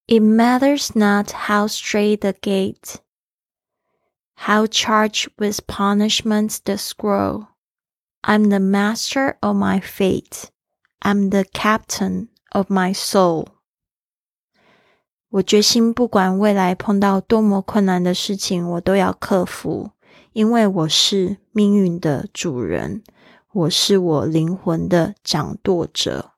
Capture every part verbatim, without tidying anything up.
It matters not how straight the gate, how charged with punishments the scroll. I'm the master of my fate. I'm the captain of my soul. 我决心不管未来碰到多么困难的事情，我都要克服，因为我是命运的主人，我是我灵魂的掌舵者。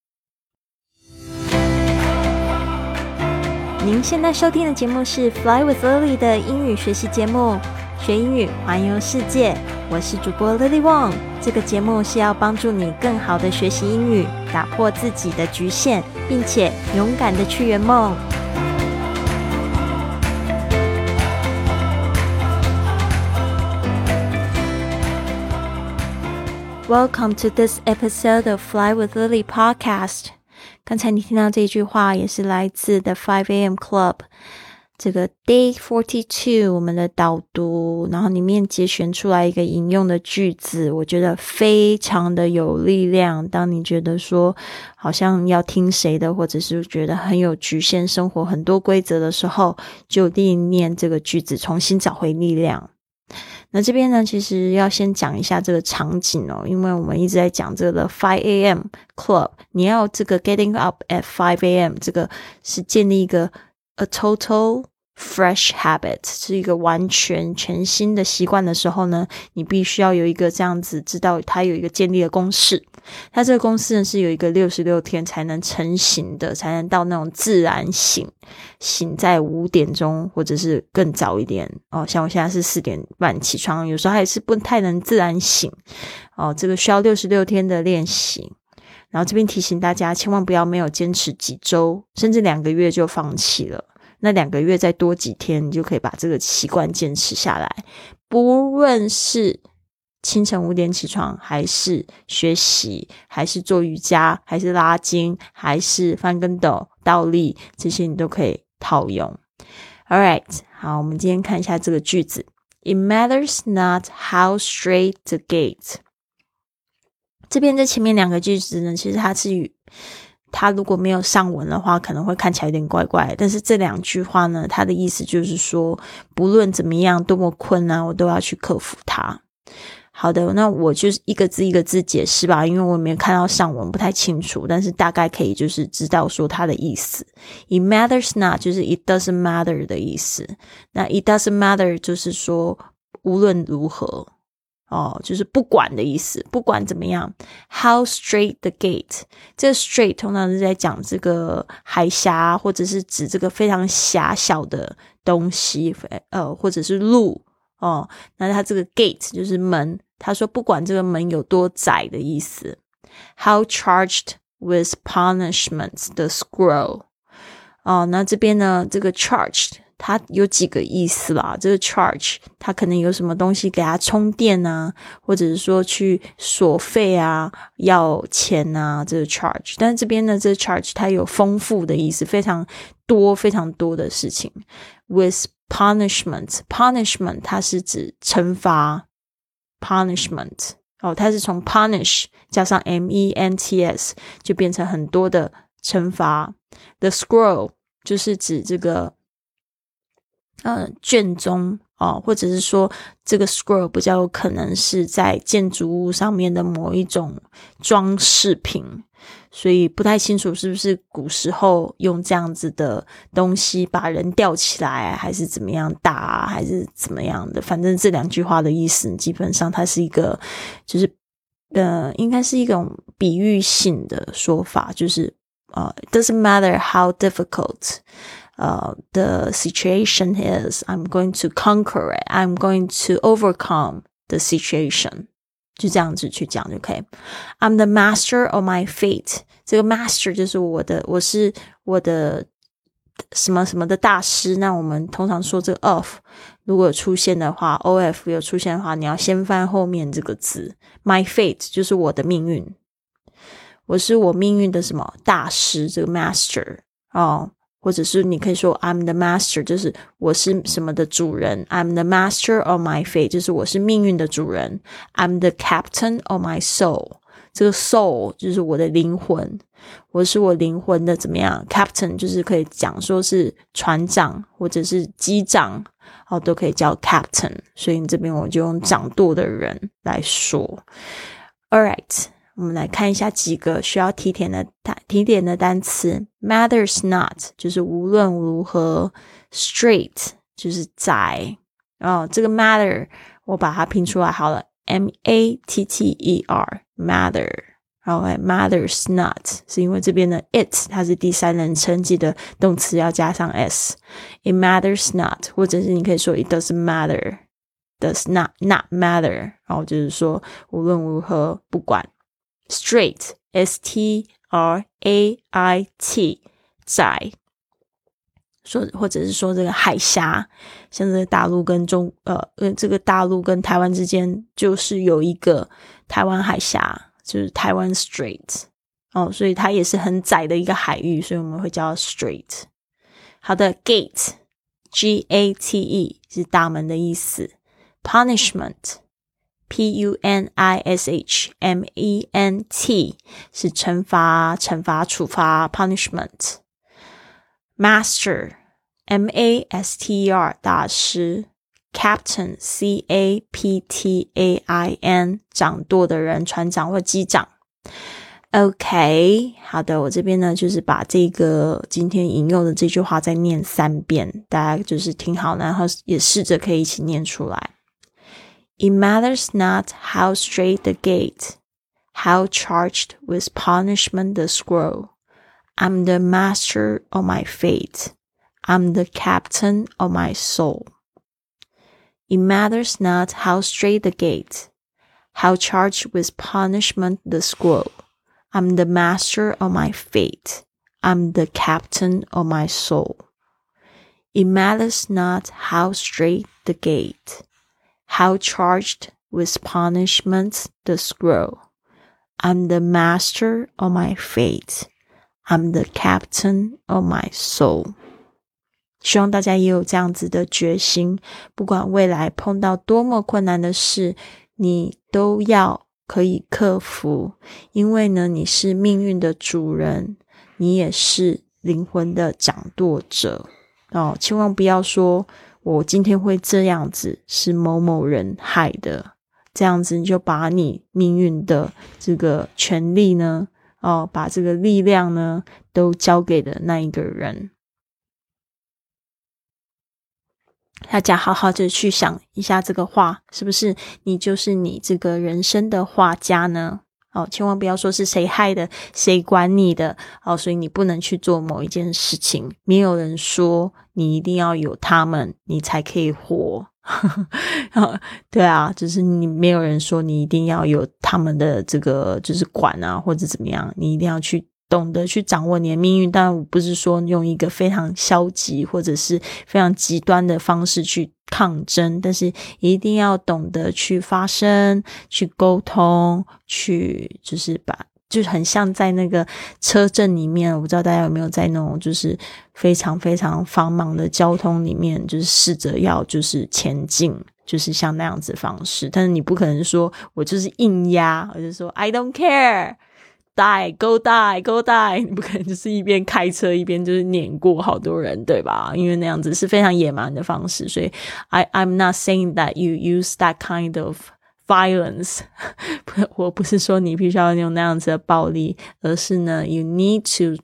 您现在收听的节目是 Fly with Lily 的英语学习节目，学英语环游世界。我是主播 Lily Wong， 这个节目是要帮助你更好的学习英语，打破自己的局限，并且勇敢的去圆梦。Welcome to this episode of Fly with Lily podcast. 刚才你听到这句话也是来自 The five a.m. Club 这个 Day forty-two 我们的导读，然后里面节选出来一个引用的句子，我觉得非常的有力量。当你觉得说好像要听谁的，或者是觉得很有局限，生活很多规则的时候，就念念这个句子，重新找回力量。那这边呢，其实要先讲一下这个场景哦，因为我们一直在讲这个 five a.m. Club， 你要这个 getting up at five a.m. 这个是建立一个 a total fresh habit， 是一个完全全新的习惯的时候呢，你必须要有一个这样子知道它有一个建立的公式。它这个公式呢是有一个六十六天才能成型的，才能到那种自然醒，醒在五点钟或者是更早一点哦。像我现在是四点半起床，有时候还是不太能自然醒哦，这个需要六十六天的练习。然后这边提醒大家，千万不要没有坚持几周甚至两个月就放弃了。那两个月再多几天，你就可以把这个习惯坚持下来。不论是清晨五点起床，还是学习，还是做瑜伽，还是拉筋，还是翻跟斗、倒立，这些你都可以套用。Alright， 好，我们今天看一下这个句子。It matters not how straight the gate。这边在前面两个句子呢，其实它是与它如果没有上文的话，可能会看起来有点怪怪的，但是这两句话呢，它的意思就是说，不论怎么样，多么困难，我都要去克服它。好的，那我就是一个字一个字解释吧，因为我没有看到上文，不太清楚，但是大概可以就是知道说它的意思。It matters not 就是 it doesn't matter 的意思，那 it doesn't matter 就是说无论如何哦，就是不管的意思，不管怎么样。How straight the gate， 这个 straight 通常是在讲这个海峡，或者是指这个非常狭小的东西，呃，或者是路哦。那它这个 gate 就是门，他说不管这个门有多窄的意思。How charged with punishments the scroll， 哦，那这边呢，这个 charged它有几个意思啦，这个 charge 它可能有什么东西给它充电啊，或者是说去索费啊，要钱啊，这个 charge。但是这边呢，这个 charge 它有丰富的意思，非常多非常多的事情。With punishment， punishment 它是指惩罚 punishment， 哦，它是从 punish 加上 M E N T S 就变成很多的惩罚。The scroll 就是指这个呃，卷宗哦，或者是说这个 scroll 比较有可能是在建筑物上面的某一种装饰品，所以不太清楚是不是古时候用这样子的东西把人吊起来，还是怎么样打啊，还是怎么样的。反正这两句话的意思基本上它是一个就是呃，应该是一种比喻性的说法，就是呃 it doesn't matter how difficult Uh, the situation is, I'm going to conquer it. I'm going to overcome the situation. 就这样子去讲就可以。I'm the master of my fate. 这个 master 就是我的，我是我的什么什么的大师。那我们通常说这个 of 如果有出现的话， of 有出现的话，你要先翻后面这个字。My fate 就是我的命运，我是我命运的什么大师，这个 master 哦。或者是你可以说 I'm the master， 就是我是什么的主人。 I'm the master of my fate， 就是我是命运的主人。 I'm the captain of my soul， 这个 soul 就是我的灵魂，我是我灵魂的怎么样 captain 就是可以讲说是船长或者是机长哦，都可以叫 captain， 所以这边我就用掌舵的人来说。 Alright， 我们来看一下几个需要提点的提点的单词。 matters not 就是无论如何， straight 就是窄哦，这个 matter 我把它拼出来好了， M A T T E R matter， 然后 matters not 是因为这边的 it 它是第三人称，记得动词要加上 s， it matters not， 或者是你可以说 it doesn't matter， does not not matter， 然后就是说无论如何不管。 straight S T R A I T 窄，说或者是说这个海峡，像这个大陆跟中呃这个大陆跟台湾之间就是有一个台湾海峡，就是台湾 Strait 哦，所以它也是很窄的一个海域，所以我们会叫 Strait。 好的， Gate G A T E 是大门的意思。 Punishment P U N I S H M E N T 是惩罚惩罚处罚 punishment。 Master M A S T E R 大师。 Captain C A P T A I N 掌舵的人，船长或机长。 OK， 好的，我这边呢就是把这个今天引用的这句话再念三遍，大家就是听好，然后也试着可以一起念出来。It matters not how straight the gate, how charged with punishment the scroll. I'm the master of my fate. I'm the captain of my soul. It matters not how straight the gate, how charged with punishment the scroll. I'm the master of my fate. I'm the captain of my soul. It matters not how straight the gate, how charged with punishment the scroll. I'm the master of my fate. I'm the captain of my soul. 希望大家也有这样子的决心，不管未来碰到多么困难的事，你都要可以克服，因为呢，你是命运的主人，你也是灵魂的掌舵者哦。千万不要说我今天会这样子是某某人害的，这样子你就把你命运的这个权利呢哦，把这个力量呢都交给了那一个人。大家好好的去想一下这个话，是不是你就是你这个人生的画家呢？哦，千万不要说是谁害的，谁管你的哦，所以你不能去做某一件事情。没有人说你一定要有他们，你才可以活。对啊，就是你没有人说你一定要有他们的这个就是管啊，或者怎么样，你一定要去懂得去掌握你的命运。但我不是说用一个非常消极或者是非常极端的方式去抗争，但是一定要懂得去发声，去沟通，去就是把就是很像在那个车阵里面，我不知道大家有没有在那种就是非常非常繁忙的交通里面，就是试着要就是前进，就是像那样子的方式。但是你不可能说我就是硬压，我就说 I don't care die go die go die， 你不可能就是一边开车一边就是碾过好多人，对吧？因为那样子是非常野蛮的方式。所以 I, I'm not saying that you use that kind of violence 我不是说你必须要用那样子的暴力，而是呢 you need to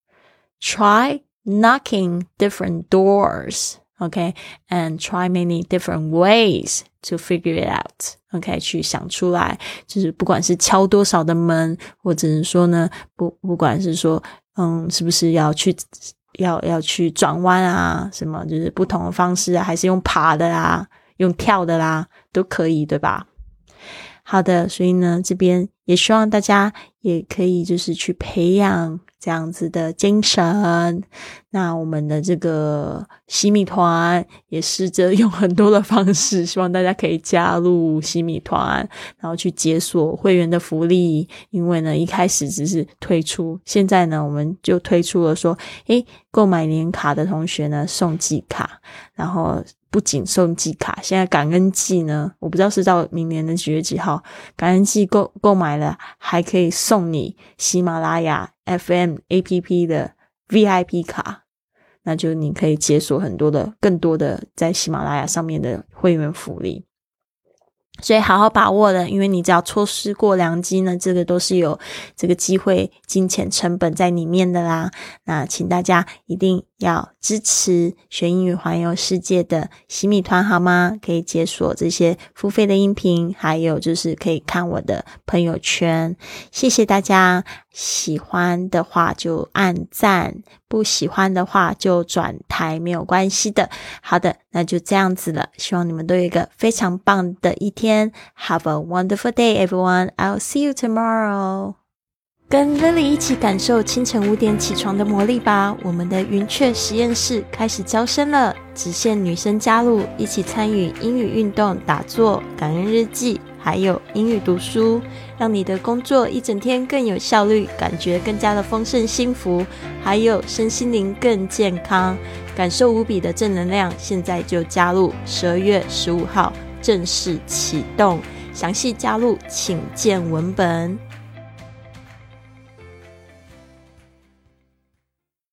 try knocking different doors, okay, and try many different ways to figure it out, okay, 去想出来，就是不管是敲多少的门，或者是说呢不不管是说嗯是不是要去要要去转弯啊，什么就是不同的方式啊，还是用爬的啦，用跳的啦，都可以，对吧？好的，所以呢这边也希望大家也可以就是去培养这样子的精神。那我们的这个洗米团也试着用很多的方式，希望大家可以加入洗米团，然后去解锁会员的福利。因为呢一开始只是推出，现在呢我们就推出了说诶购买年卡的同学呢送季卡，然后不仅送季卡，现在感恩季呢，我不知道是到明年的几月几号，感恩季购购买了还可以送你喜马拉雅 F M A P P 的 V I P 卡，那就你可以解锁很多的更多的在喜马拉雅上面的会员福利，所以好好把握了，因为你只要错失过良机呢，这个都是有这个机会金钱成本在里面的啦。那请大家一定要支持学英语环游世界的洗米团好吗？可以解锁这些付费的音频，还有就是可以看我的朋友圈。谢谢大家，喜欢的话就按赞，不喜欢的话就转台，没有关系的。好的，那就这样子了，希望你们都有一个非常棒的一天。Have a wonderful day, everyone. I'll see you tomorrow. 跟 Lily 一起感受清晨五点起床的魔力吧！我们的云雀实验室开始招生了，只限女生加入，一起参与英语运动、打坐、感恩日记，还有英语读书，让你的工作一整天更有效率，感觉更加的丰盛幸福，还有身心灵更健康，感受无比的正能量。现在就加入，十二月十五号正式启动，详细加入请见文本。